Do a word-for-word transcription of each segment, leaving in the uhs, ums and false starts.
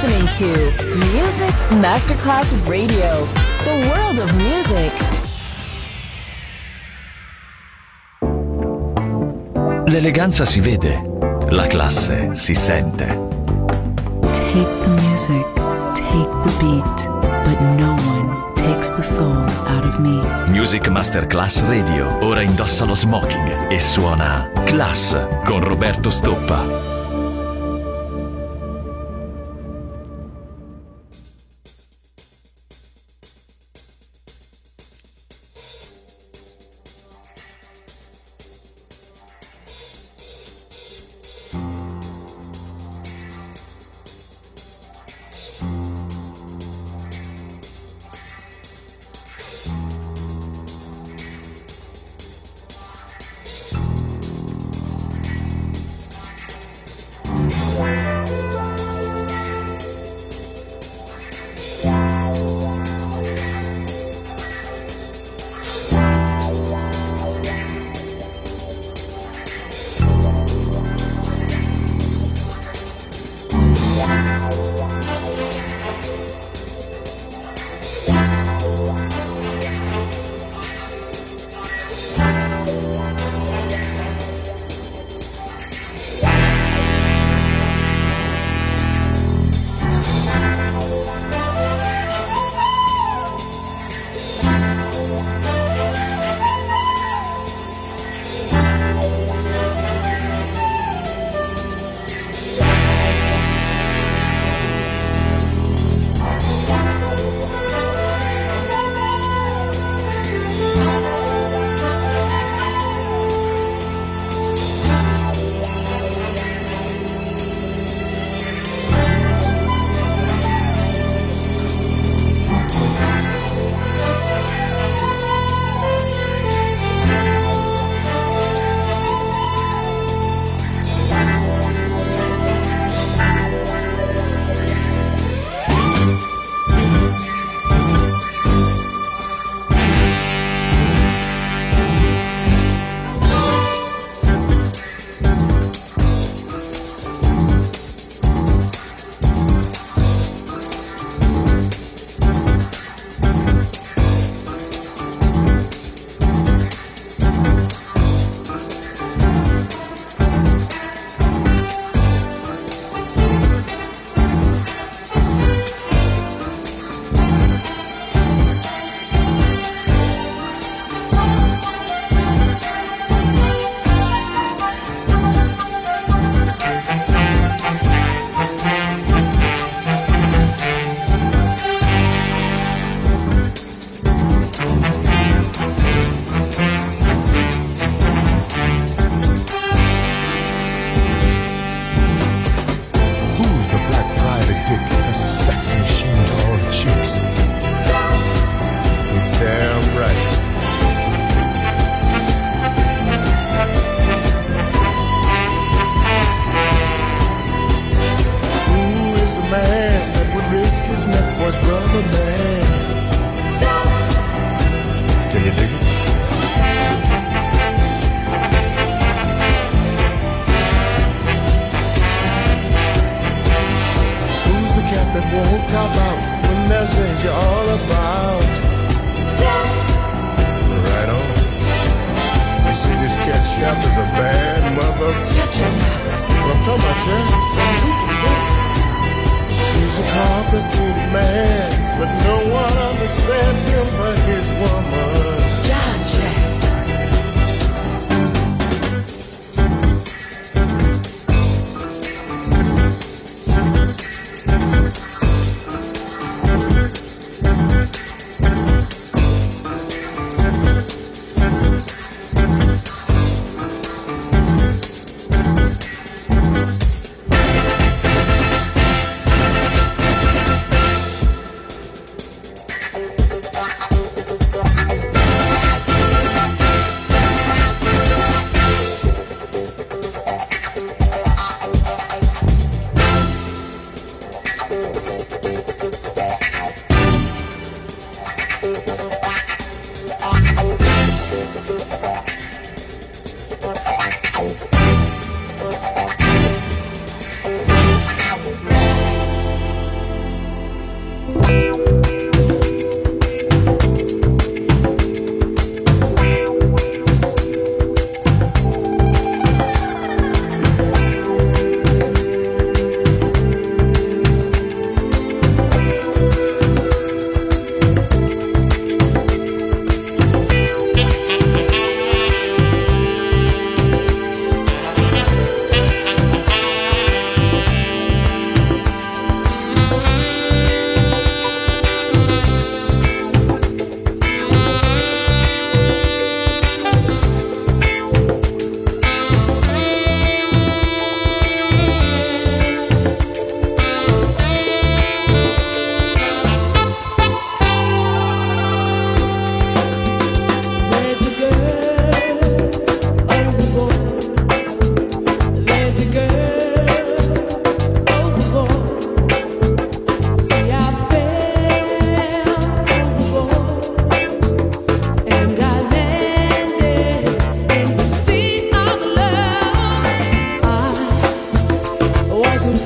listening to Music Masterclass Radio, the world of music. L'eleganza si vede, la classe si sente. Take the music, take the beat, but no one takes the soul out of me. Music Masterclass Radio ora indossa lo smoking e suona Class con Roberto Stoppa.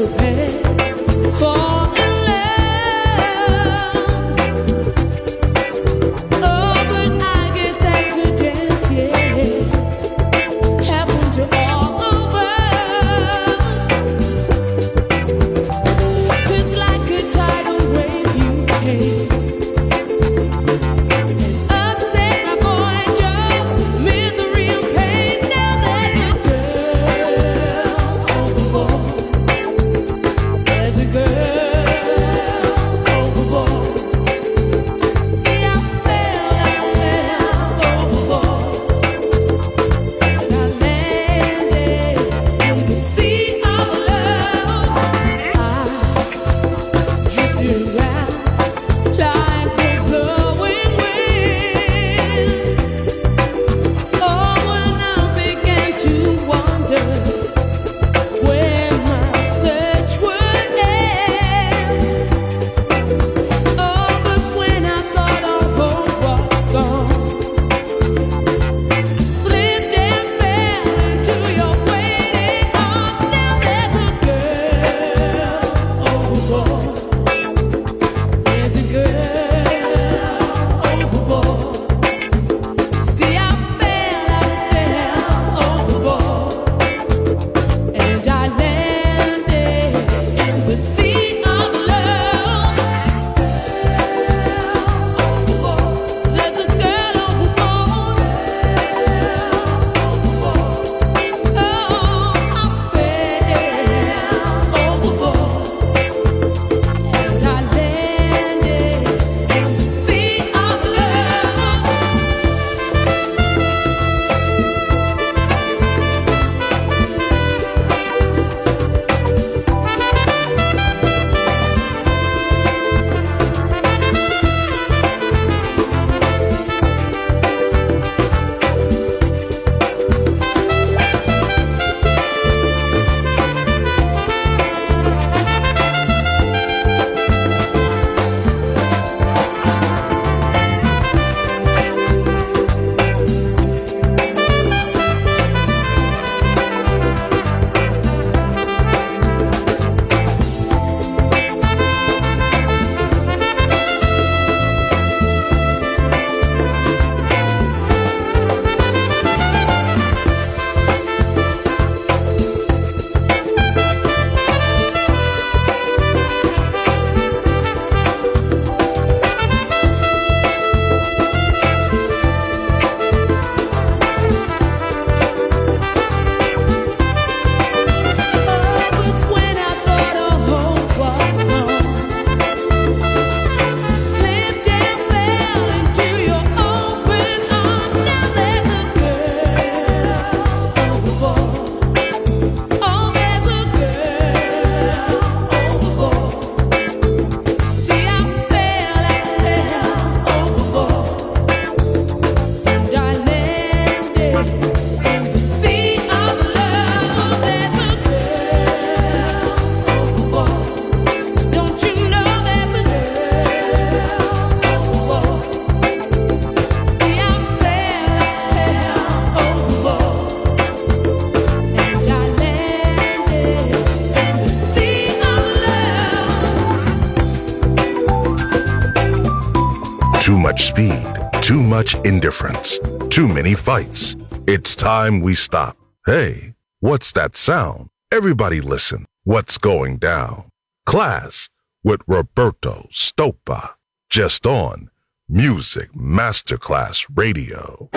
Too much speed, too much indifference, too many fights. It's time we stop. Hey, what's that sound? Everybody listen. What's going down? Class with Roberto Stoppa. Just on Music Masterclass Radio.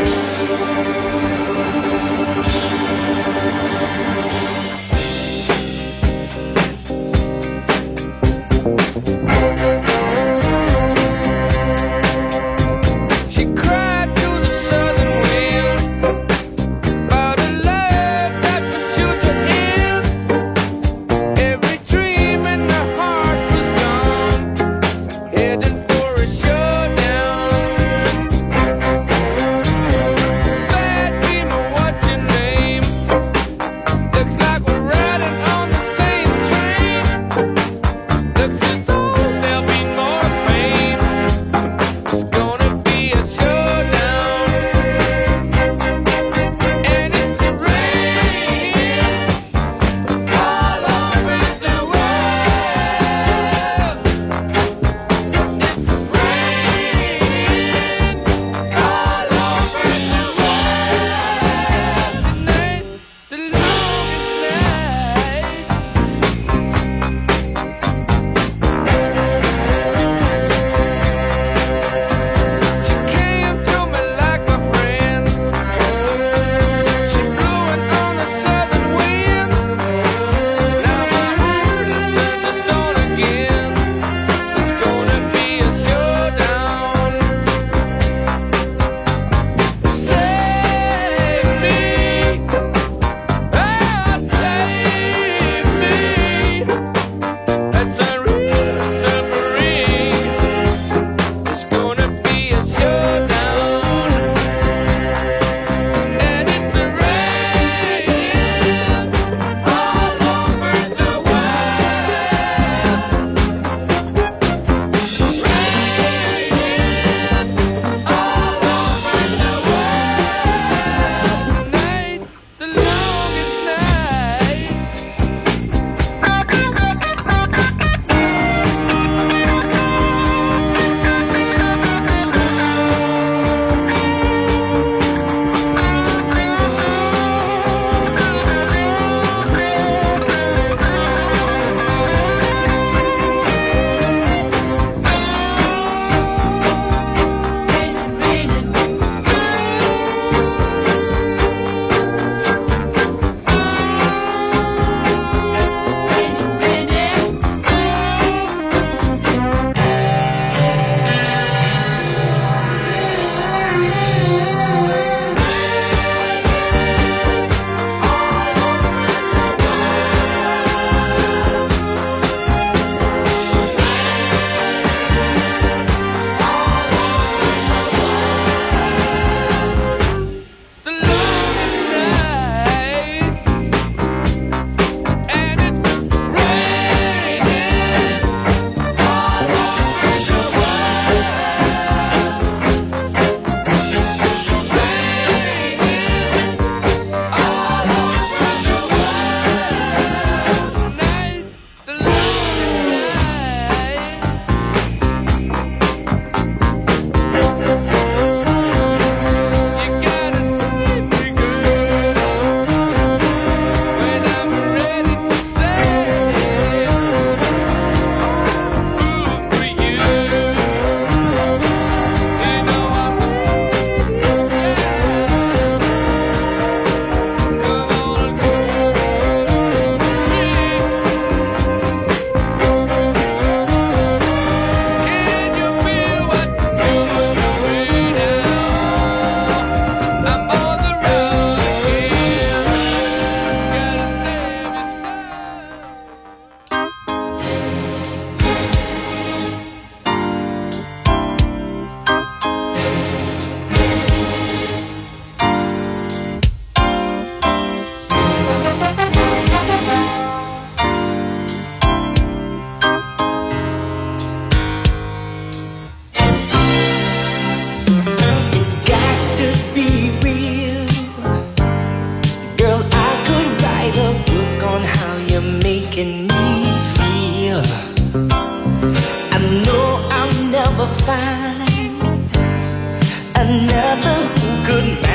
Looks as though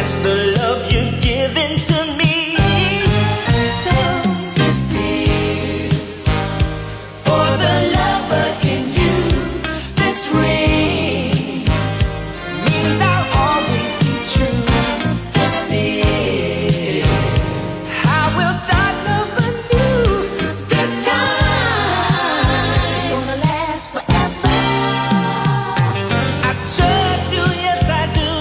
match the love you're giving to me. So this is for the lover in you. This ring means I'll always be true. This is how we'll start loving you. This time it's gonna last forever. I trust you, yes I do.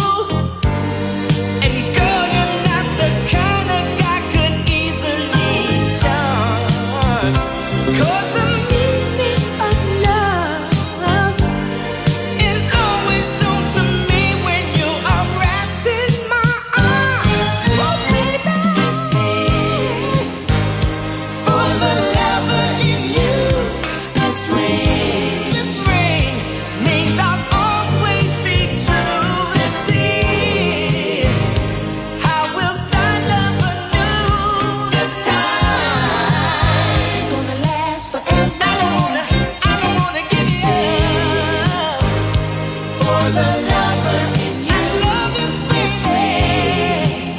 And girl, you're not the kind of guy could easily charm. 'Cause the meaning of love is always shown to me when you are wrapped in my arms. Oh baby, this is for the lover in you. This ring, this ring means I'll always be true. This is how we'll start loving new. This time it's gonna last forever. I don't wanna, I don't wanna give you up for the lover in you. I love you, this ring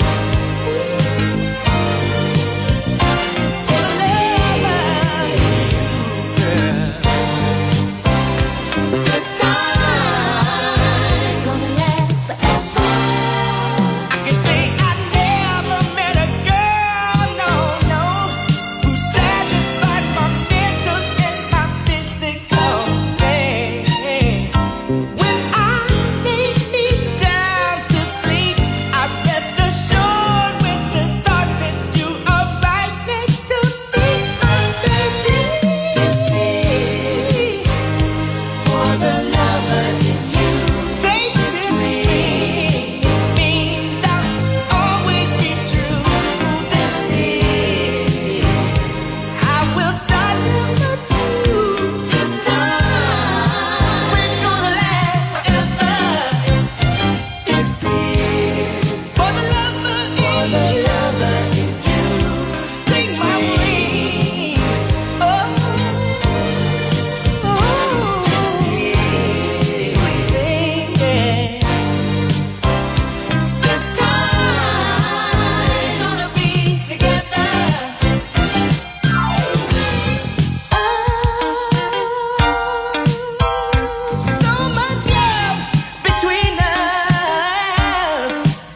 for the lover in you, girl. This time it's gonna last forever. I can say I never met a girl, no, no, who satisfies my mental and my physical pain. When I lay me down to sleep, I rest assured with the thought that you are right next to me, my baby. This is for the lover in you. Take this ring, it means I'll always be true. This is how we'll start loving you. This time we're gonna last forever. This is for the lover in you. Take my ring. Oh, oh, this is sweet baby. This time we're gonna be together. Oh, so much love between us.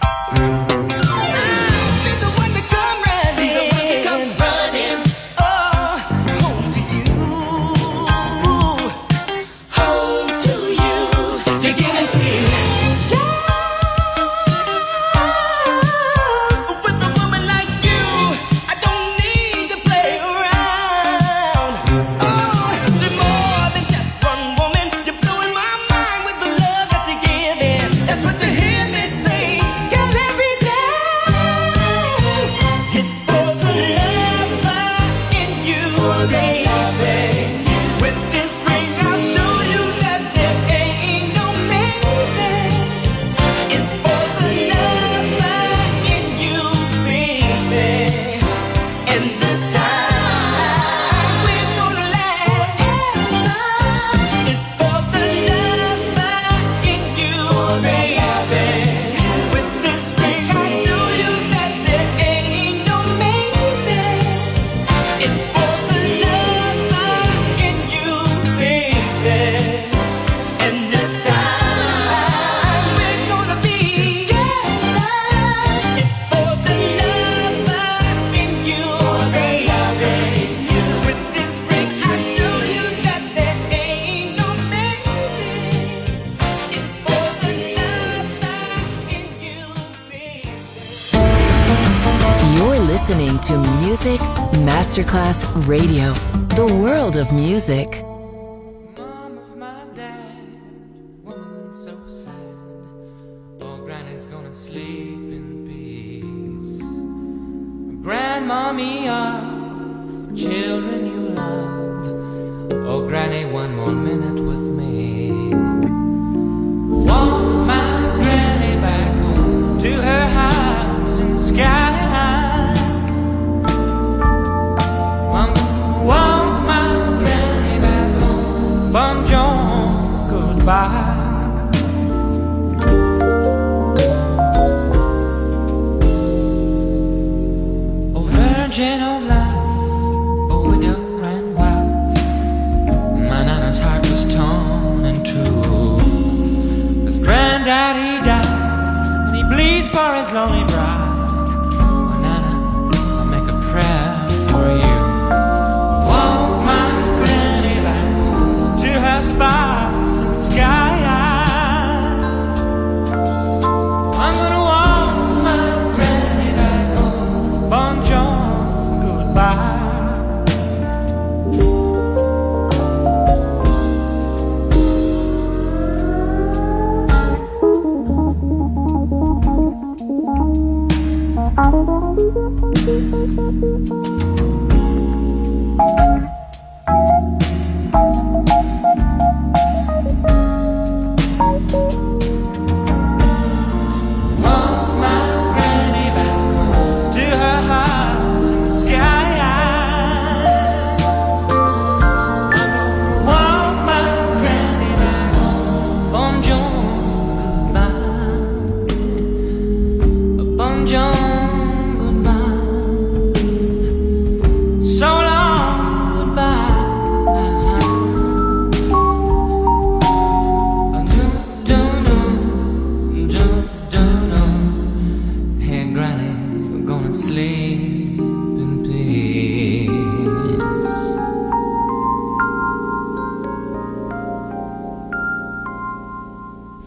I'll be the one to come running. Oh, home to you. Home to you. You give me sweet love. With a woman like you, I don't need to play around. Oh, you're more than just one woman. You're blowing my mind with the love that you're giving. That's what you hear me say, girl, every day. It's for the lover in you, baby. With this ring, I'll show you that there ain't no maybes. It's for the lover in you, baby. And this time we're gonna last forever. It's for the lover in you, baby. With this ring, I'll show you that there ain't no maybes. It's for the lover in you, baby. And this time we're gonna be together. It's for the lover in you, baby. With this ring, I'll show you that there ain't no maybes. It's for the lover in you, baby. You're listening to Music Masterclass Radio, the world of music. Mom of my dad, woman so sad. Oh, Granny's gonna sleep in peace. Grandmommy of children you love. Oh, Granny, one more minute with me. Want my Granny back home to her house in the sky. Want, want my Granny back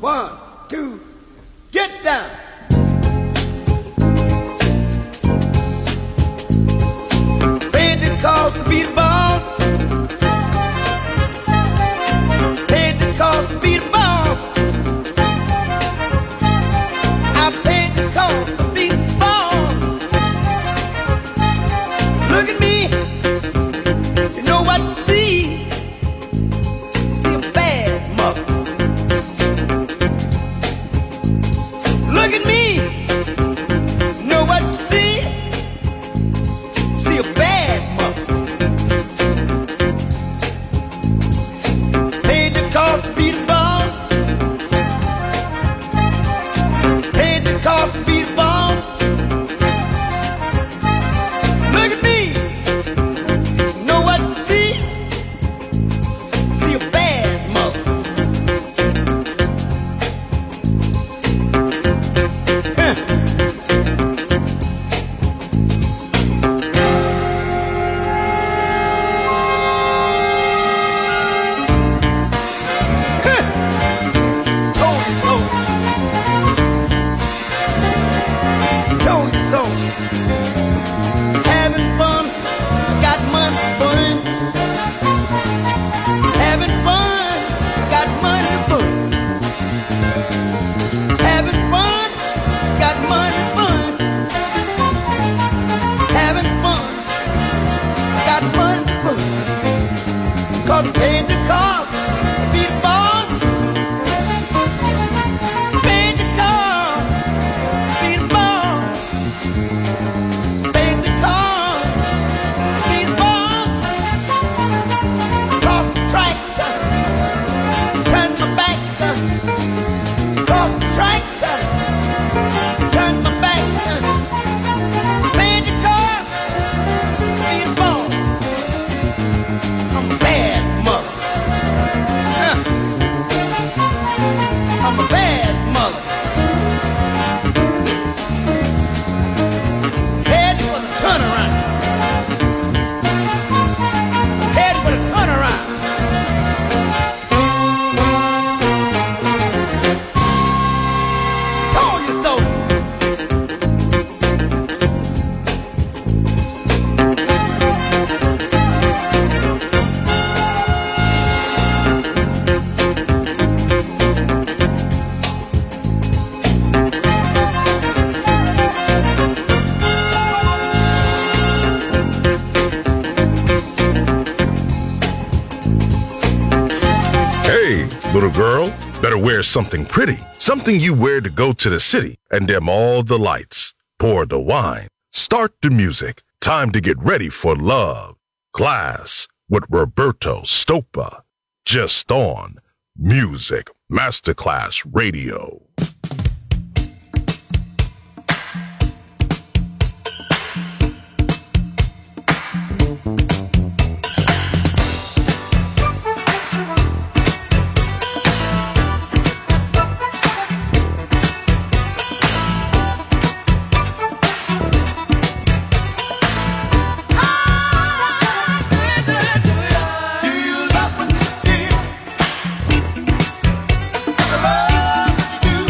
One, two, get down. Paid the cost to be the boss. Paid the cost to be the boss. I paid the cost to be the boss. Look at me. You know what to see. See a bad mother. Look at me. Know what to see. See a bad mother. Paid the cost to be the boss. Paid the cost to be the boss. Look at me. Know what to see. See a bad mother. Huh. Told you so. Told you so. Having fun, got money to burn. Having fun, got money to burn. Having fun, got money to burn. Having fun, got money to burn. Cause paid the cost to be the boss. Paid the cost to be the boss. Paid the cost to be the boss. Cross the tracks, uh, turn my back. uh, Cross the tracks, uh, turn my back. uh, Paid the cost to be the boss. I'm a bad mother. Huh. I'm a bad mother. Head for the turnaround. Head for the turnaround. Told you so. Hey, little girl, better wear something pretty. Something you wear to go to the city and dim all the lights. Pour the wine. Start the music. Time to get ready for love. Class with Roberto Stoppa. Just on Music Masterclass Radio. Do you love what you feel? The love that you do.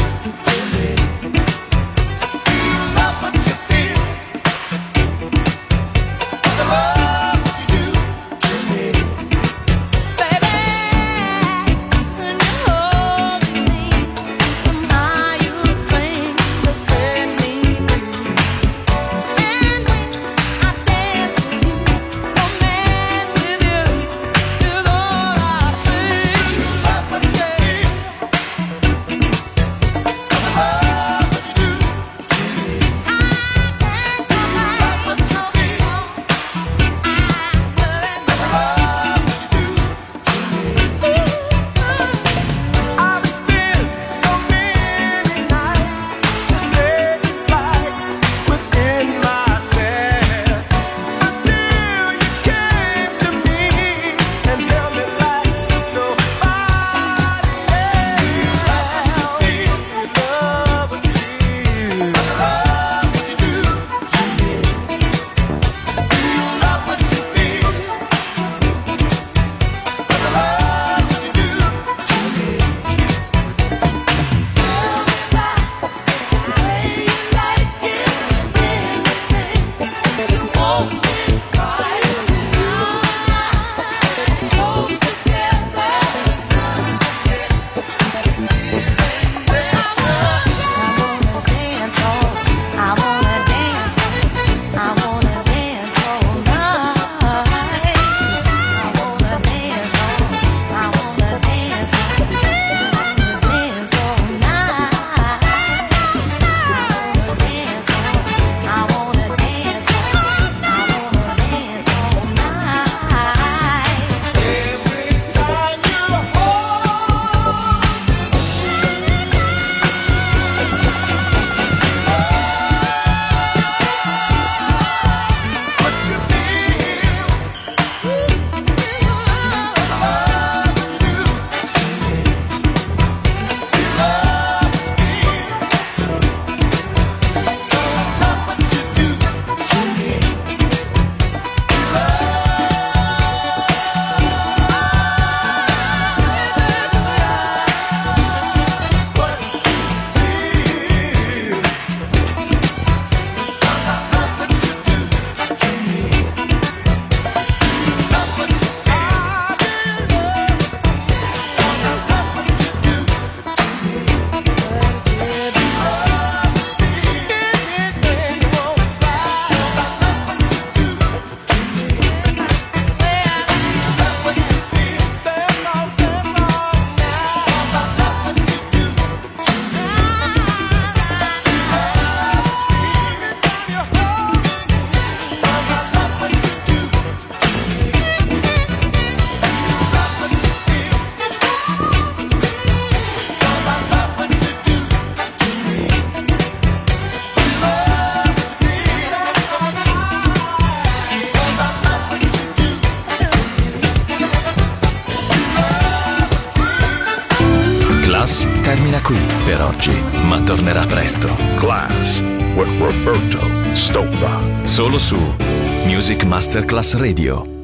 termina qui per oggi, ma tornerà presto. Class with Roberto Stoppa. Solo su Music Masterclass Radio.